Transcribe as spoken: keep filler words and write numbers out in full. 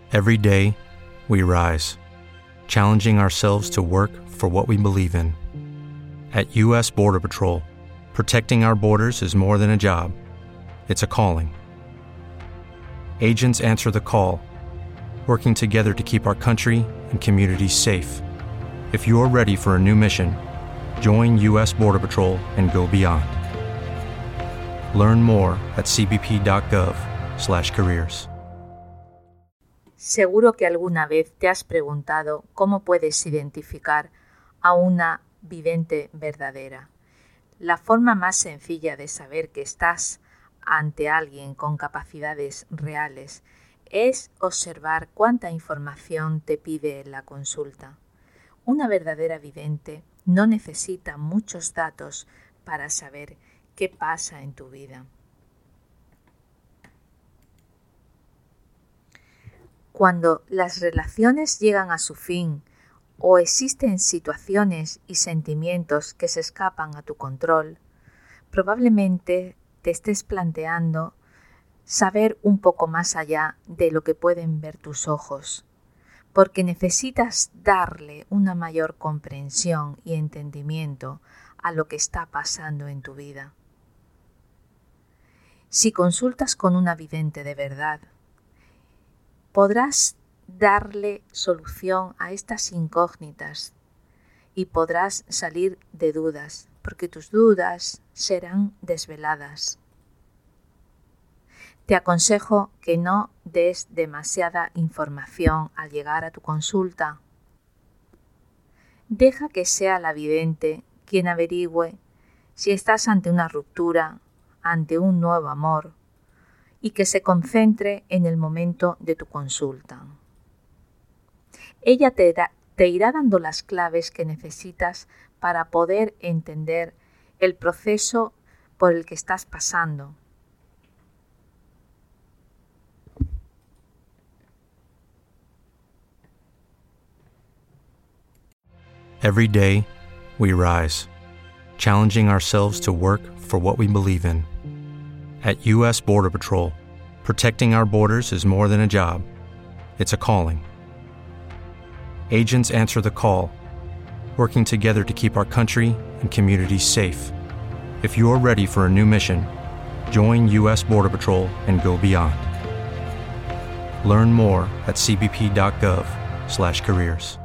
Every day, we rise, challenging ourselves to work for what we believe in. At U S Border Patrol, protecting our borders is more than a job. It's a calling. Agents answer the call, working together to keep our country and communities safe. If you're ready for a new mission, join U S Border Patrol and go beyond. Learn more at c b p dot gov slash careers. Seguro que alguna vez te has preguntado cómo puedes identificar a una vidente verdadera. La forma más sencilla de saber que estás ante alguien con capacidades reales es observar cuánta información te pide la consulta. Una verdadera vidente no necesita muchos datos para saber qué pasa en tu vida. Cuando las relaciones llegan a su fin o existen situaciones y sentimientos que se escapan a tu control, probablemente te estés planteando saber un poco más allá de lo que pueden ver tus ojos, porque necesitas darle una mayor comprensión y entendimiento a lo que está pasando en tu vida. Si consultas con una vidente de verdad, podrás darle solución a estas incógnitas y podrás salir de dudas, porque tus dudas serán desveladas. Te aconsejo que no des demasiada información al llegar a tu consulta. Deja que sea la vidente quien averigüe si estás ante una ruptura, ante un nuevo amor, y que se concentre en el momento de tu consulta. Ella te, da, te irá dando las claves que necesitas para poder entender el proceso por el que estás pasando. Every day, we rise, challenging ourselves to work for what we believe in. At U S Border Patrol, protecting our borders is more than a job. It's a calling. Agents answer the call, working together to keep our country and communities safe. If you're ready for a new mission, join U S Border Patrol and go beyond. Learn more at c b p dot gov slash careers.